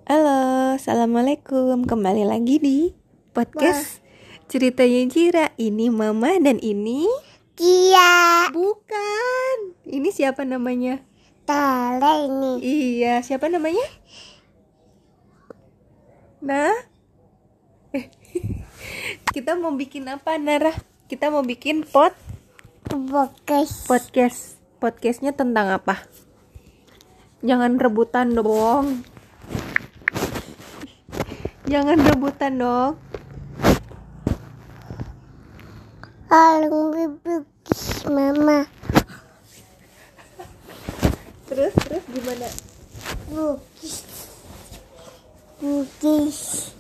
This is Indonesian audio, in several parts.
Halo, assalamualaikum. Kembali lagi di podcast ceritanya Jira. Ini Mama dan ini Kia bukan. Ini siapa namanya? Tale ini. Iya, siapa namanya? Nah, kita mau bikin apa, Nara? Kita mau bikin podcast. Podcastnya tentang apa? Jangan rebutan dong. Jangan rebutan dong. Alung bibis mama. Terus gimana? Bukis.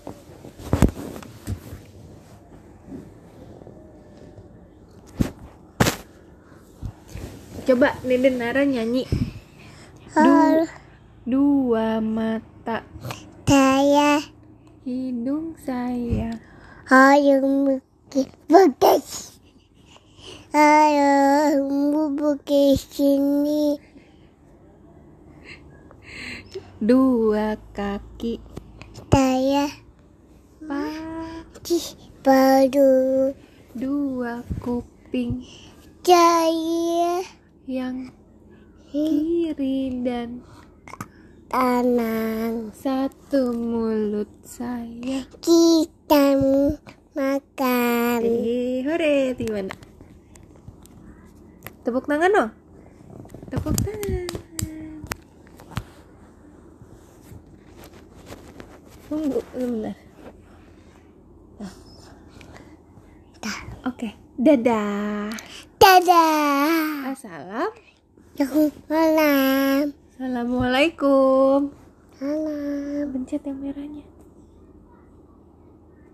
Coba Neden Nara nyanyi. Dua mata, Saya hidung saya. alung bukis. Alung bukis ini. Dua kaki, Saya pagi. baru Dua kuping, saya yang kiri dan tanang. satu mulut saya. Kita makan. Hore, gimana? Tepuk tangan dong. Tepuk tangan. Tunggu sebentar. Oke, dadah. Dadah. Assalamualaikum. Salam. Pencet yang merahnya.